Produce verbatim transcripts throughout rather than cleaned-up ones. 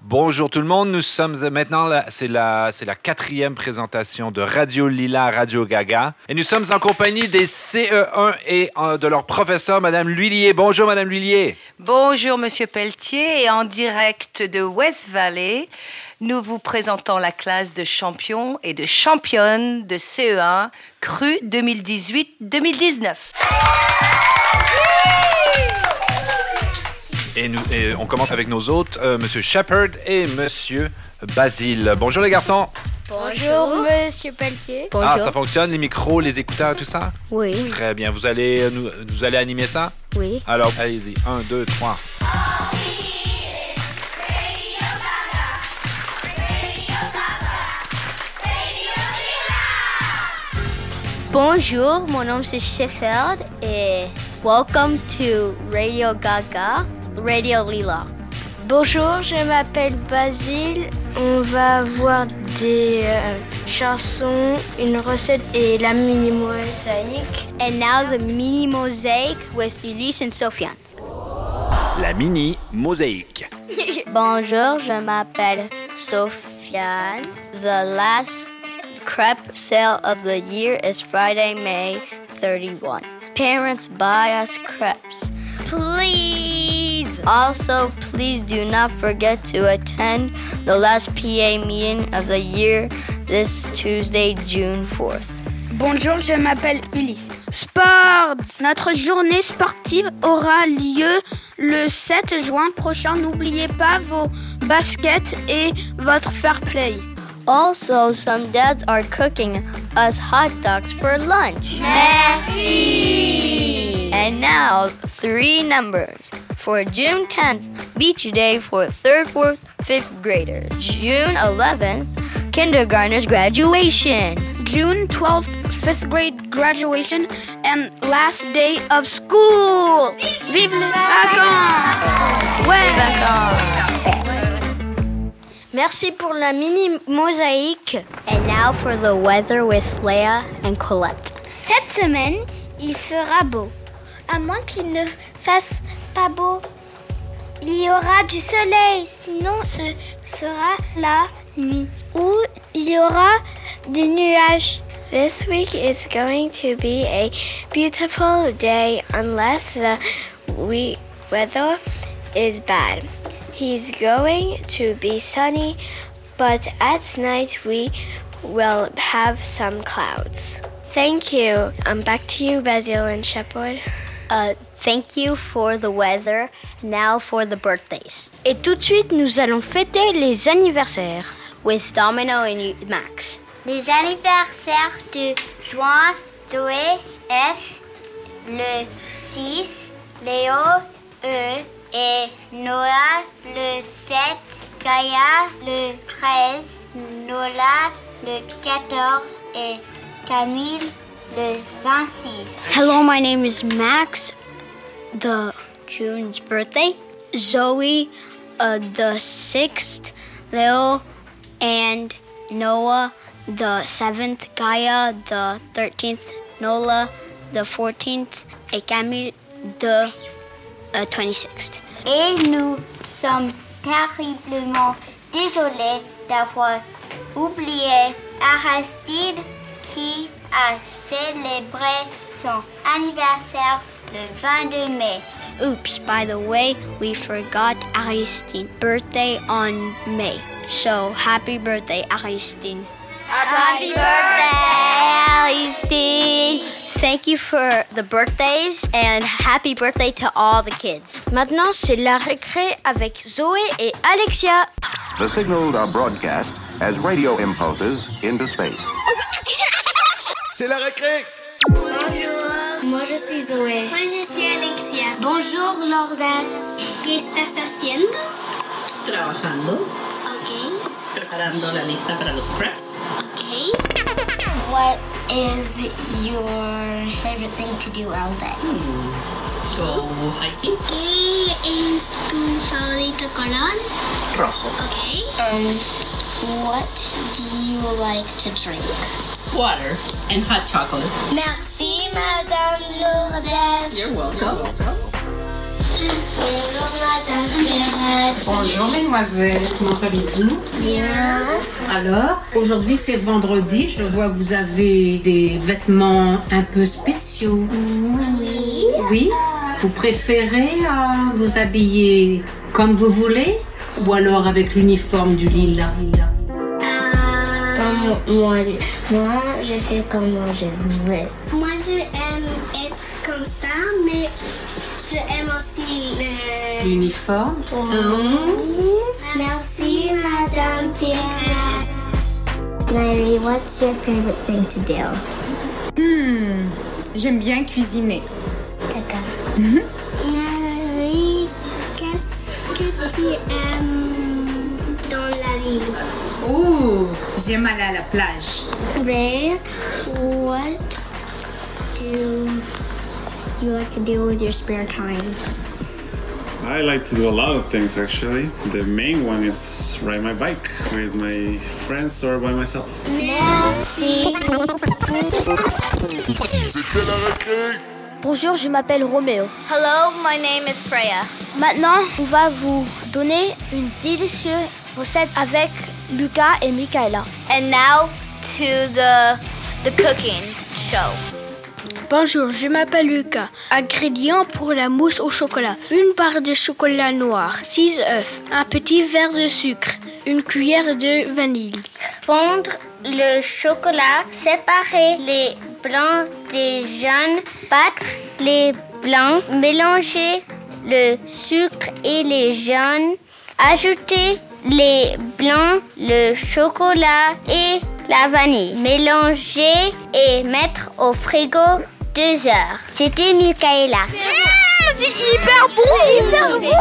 Bonjour tout le monde, nous sommes maintenant, là, c'est la, c'est la quatrième présentation de Radio Lila, Radio Gaga. Et nous sommes en compagnie des C E un et euh, de leur professeur, Madame L'Huillier. Bonjour, Madame L'Huillier. Bonjour, Monsieur Pelletier. Et en direct de West Valley, nous vous présentons la classe de champions et de championnes de C E un Cru deux mille dix-huit deux mille dix-neuf. Et, nous, et on commence avec nos hôtes, euh, Monsieur Shepard et Monsieur Basile. Bonjour les garçons. Bonjour, Monsieur Pelletier. Bonjour. Ah, ça fonctionne, les micros, les écouteurs, tout ça? Oui. Très bien. Vous allez, nous, vous allez animer ça? Oui. Alors, allez-y. Un, deux, trois. Bonjour, mon nom c'est Shepard et welcome to Radio Gaga, Radio Lila. Bonjour, je m'appelle Basile. On va voir des euh, chansons, une recette et la mini mosaïque. And now the mini mosaic with Ulysse and Sofiane. La mini mosaïque. Bonjour, je m'appelle Sofiane. The last crepe sale of the year is Friday, May thirty-first. Parents, buy us crepes. Please! Also, please do not forget to attend the last P A meeting of the year this Tuesday, June fourth. Bonjour, je m'appelle Ulysse. Sports! Notre journée sportive aura lieu le sept juin prochain. N'oubliez pas vos baskets et votre fair play. Also, some dads are cooking us hot dogs for lunch. Merci! And now, three numbers. For June tenth, Beach Day for third, fourth, fifth graders. June eleventh, kindergartners graduation. June twelfth, fifth grade graduation and last day of school. Vive les vacances! Ouais! Vacances! Merci pour la mini mosaïque. And now for the weather with Leah and Colette. Cette semaine, il fera beau. À moins qu'il ne fasse pas beau, il y aura du soleil. Sinon, ce sera la nuit. Ou il y aura des nuages. This week is going to be a beautiful day unless the we- weather is bad. He's going to be sunny, but at night we will have some clouds. Thank you. Um, back to you, Basile and Shepard. Uh, thank you for the weather. Now for the birthdays. Et tout de suite, nous allons fêter les anniversaires. With Domino and Max. Les anniversaires de juin, Zoé, F, le six, Léo, E, et Noah le sept, Gaïa le treize, Nola le quatorze et Camille le vingt-six. Hello, my name is Max, the June's birthday. Zoe, uh, the sixth, Leo and Noah, the seventh, Gaia, the thirteenth, Nola, the fourteenth, et Camille, the uh, twenty-sixth. Et nous sommes terriblement désolés d'avoir oublié Aristide qui a célébré son anniversaire le vingt-deux mai. Oops, by the way, we forgot Aristine's birthday on May. So, happy birthday, Aristine. Happy birthday, Aristine! Thank you for the birthdays and happy birthday to all the kids. Maintenant, c'est la récré avec Zoé et Alexia. The signals are broadcast as radio impulses into space. C'est la récré! Bonjour, moi je suis Zoé. Moi je suis Alexia. Bonjour Lourdes. ¿Qué estás haciendo? Trabajando. Ok. Preparando la lista para los crepes. Ok. What is your favorite thing to do all day? Hmm. Go hiking. ¿Qué es tu favorito color? Rojo. Okay. Um, what do you like to drink? Water and hot chocolate. Merci, Madame Lourdes. You're welcome. Bonjour mesdemoiselles, comment allez-vous? Bien. Alors, aujourd'hui c'est vendredi, je vois que vous avez des vêtements un peu spéciaux. Oui. Oui? Vous préférez euh, vous habiller comme vous voulez ou alors avec l'uniforme du lilas? Comme moi, moi, je fais comme moi je veux. Moi, je aime être comme ça, mais je aime aussi le... L'uniforme? Mmh. Merci, Madame Pierre. Larry, what's your favorite thing to do? Hmm, j'aime bien cuisiner. D'accord. Larry, qu'est-ce que tu aimes dans la vie? Oh, j'aime aller à la plage. Ray, what do you like to do with your spare time? I like to do a lot of things actually. The main one is ride my bike with my friends or by myself. Merci. C'était la récré. Bonjour, je m'appelle Roméo. Hello, my name is Freya. Maintenant, on va vous donner une délicieuse recette avec Lucas et Michaela. And now to the the cooking show. Bonjour, je m'appelle Lucas. Ingrédients pour la mousse au chocolat. Une barre de chocolat noir, six œufs, un petit verre de sucre, une cuillère de vanille. Fondre le chocolat, séparer les blancs des jaunes, battre les blancs, mélanger le sucre et les jaunes, ajouter les blancs, le chocolat et la vanille. Mélanger et mettre au frigo deux heures. C'était Michaela. Mmh, c'est hyper bon! C'est hyper bon!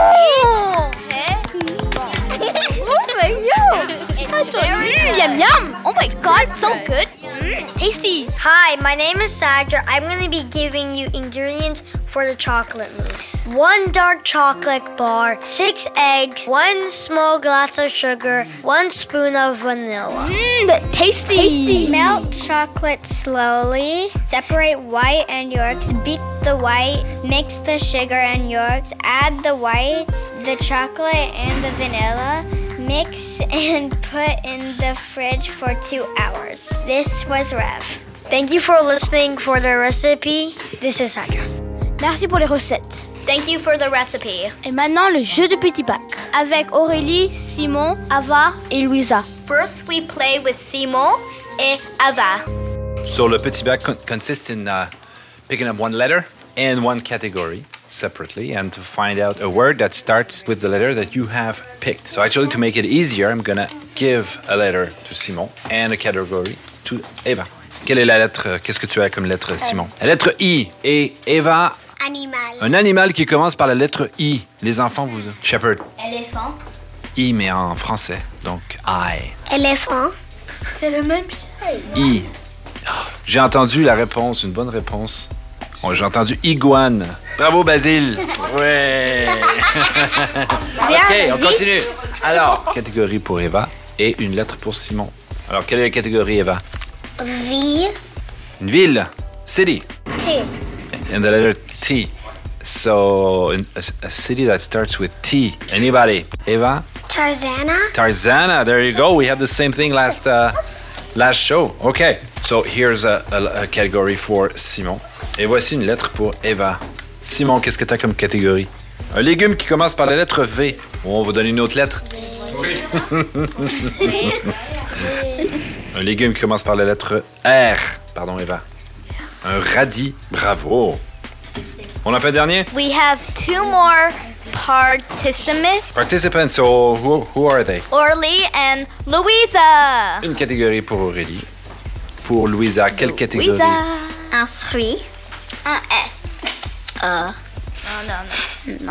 Oh my god! It's very Mm, yum yum! Oh my god, so good! Mm, tasty! Hi, my name is Sandra. I'm going to be giving you ingredients for the chocolate mousse. One dark chocolate bar, six eggs, one small glass of sugar, one spoon of vanilla. Mmm, tasty! tasty. Melt chocolate slowly. Separate white and yolks. Beat the white. Mix the sugar and yolks. Add the whites, the chocolate, and the vanilla. Mix and put in the fridge for two hours. This was Rev. Thank you for listening for the recipe. This is Sandra. Merci pour les recettes. Thank you for the recipe. Et maintenant, le jeu de petit bac. Avec Aurélie, Simon, Ava et Louisa. First, we play with Simon et Ava. So the petit bac con- consists in uh, picking up one letter and one category separately and to find out a word that starts with the letter that you have picked. So actually, to make it easier, I'm gonna give a letter to Simon and a category to Eva. Quelle est la lettre? Qu'est-ce que tu as comme lettre, Simon? La lettre I. Et Eva... Animal. Un animal qui commence par la lettre I. Les enfants, vous... Shepherd. Éléphant. I, mais en français. Donc, I. Éléphant. C'est le même chose. I. Oh, j'ai entendu la réponse, une bonne réponse. Oh, j'ai entendu iguane. Bravo, Basile. Ouais. OK, on continue. Alors, catégorie pour Eva et une lettre pour Simon. Alors, quelle est la catégorie, Eva? Ville. Une ville. City. T. And the letter T. So, a, a city that starts with T. Anybody? Eva? Tarzana. Tarzana. There you go. We had the same thing last uh, last show. Okay. So, here's a, a, a category for Simon. Et voici une lettre pour Eva. Simon, qu'est-ce que tu as comme catégorie? Un légume qui commence par la lettre V. Bon, on va donner une autre lettre. Oui. Un légume qui commence par la lettre R. Pardon, Eva. Un radis. Bravo. On a fait le dernier? We have two more participants. Participants, so who, who are they? Orly and Louisa. Une catégorie pour Aurélie. Pour Louisa, quelle catégorie? Louisa. Un fruit. Un S. Euh. Non, non, non. Non.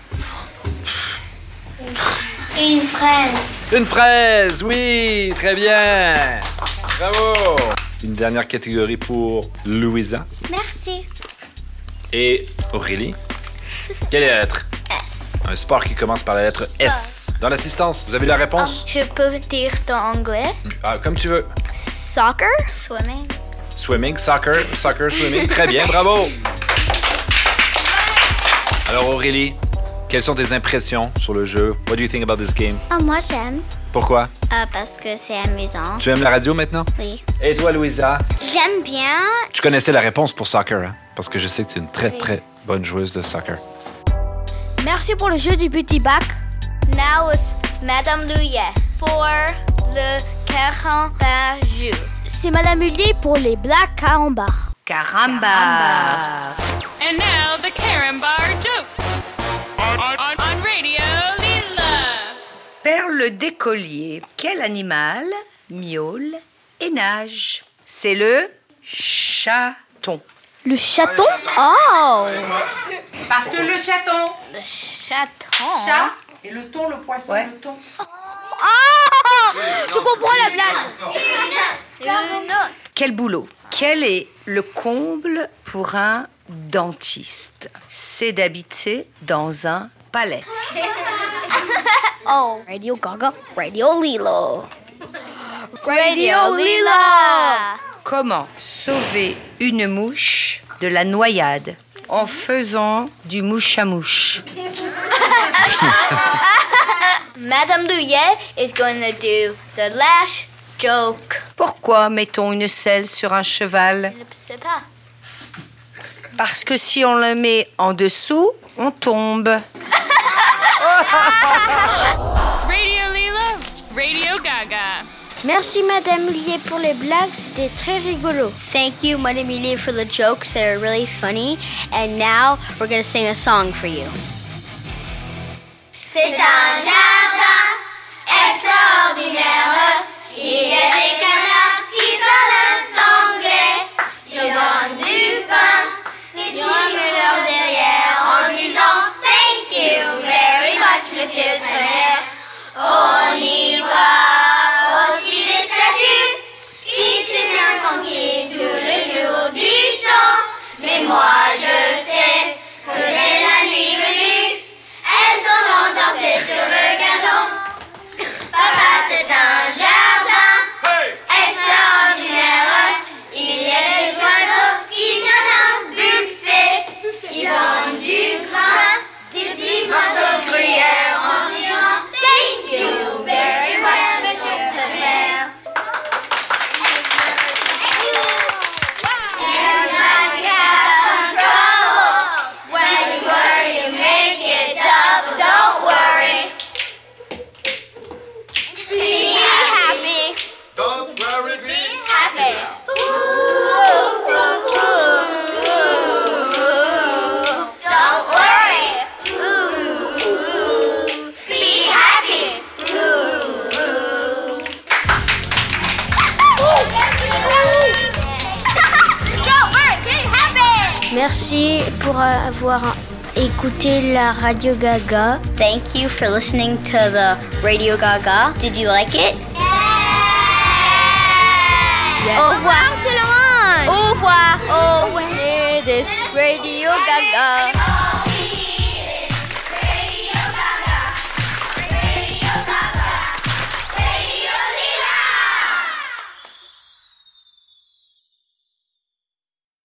Une fraise. Une fraise, oui, très bien. Bravo. Une dernière catégorie pour Louisa. Merci. Et Aurélie. Quelle est la lettre? S. Un sport qui commence par la lettre S. Dans l'assistance, vous avez la réponse? Je peux dire en anglais. Ah, comme tu veux. Soccer. Swimming. Swimming, soccer, soccer, swimming. Très bien, bravo. Alors Aurélie, Quelles sont tes impressions sur le jeu? What do you think about this game? Oh, moi, j'aime. Pourquoi? Euh, parce que c'est amusant. Tu aimes la radio maintenant? Oui. Et toi, Louisa? J'aime bien. Tu connaissais la réponse pour soccer, hein? Parce que je sais que tu es une très, oui. très bonne joueuse de soccer. Merci pour le jeu du petit bac. Now with Madame Louillet for the carambar jeu. C'est Madame Hullier pour les blagues carambar. Caramba! And now the carambar jokes on, on, on Radio Lila. Perle d'écolier, quel animal miaule et nage? C'est le chaton. Le chaton? Oh! Parce que le chaton. Le chaton. Chat. Et le thon, le poisson, ouais. le thon. Oh! Je comprends la blague. Une autre. Quel boulot? Quel est le comble pour un dentiste? C'est d'habiter dans un palais. Oh, Radio Gaga, Radio Lilo. Radio Lila. Comment sauver une mouche de la noyade en faisant du mouche à mouche? Madame Louillet is going to do the last joke. Pourquoi mettons une selle sur un cheval? Je ne sais pas. Parce que si on le met en dessous, on tombe. Radio Lila, Radio Gaga. Merci Madame Hullier pour les blagues, c'était très rigolo. Thank you, Madame Louillet, for the jokes that are really funny. And now we're going to sing a song for you. C'est un jardin extraordinaire. Il y a des canards qui parlent anglais. Ils vendent du pain, des rumeurs derrière en disant Thank you very much, Monsieur Tonnerre. On y voit aussi des statues qui se tiennent tranquilles tout le jour du temps. Mais moi je sais que dès la nuit venue, elles s'en vont danser sur le gazon. Papa, c'est un jardin extraordinaire. Il y a des oiseaux qui donnent un buffet, qui vendent du grain, des petits morceaux de gruyère en disant Thank you very much, Monsieur Tonnerre. And I got some trouble. When you worry, you make it double. Don't worry. Be happy. Don't worry, be Happy. Ooh, ooh, ooh, ooh. Don't worry. Ooh, ooh. Be happy. Ooh, ooh. Don't worry. Be happy. Merci pour avoir écouté la Radio Gaga. Thank you for listening to the Radio Gaga. Did you like it? Yes. Au revoir tout le monde. Au revoir. Au revoir. It is Radio Gaga.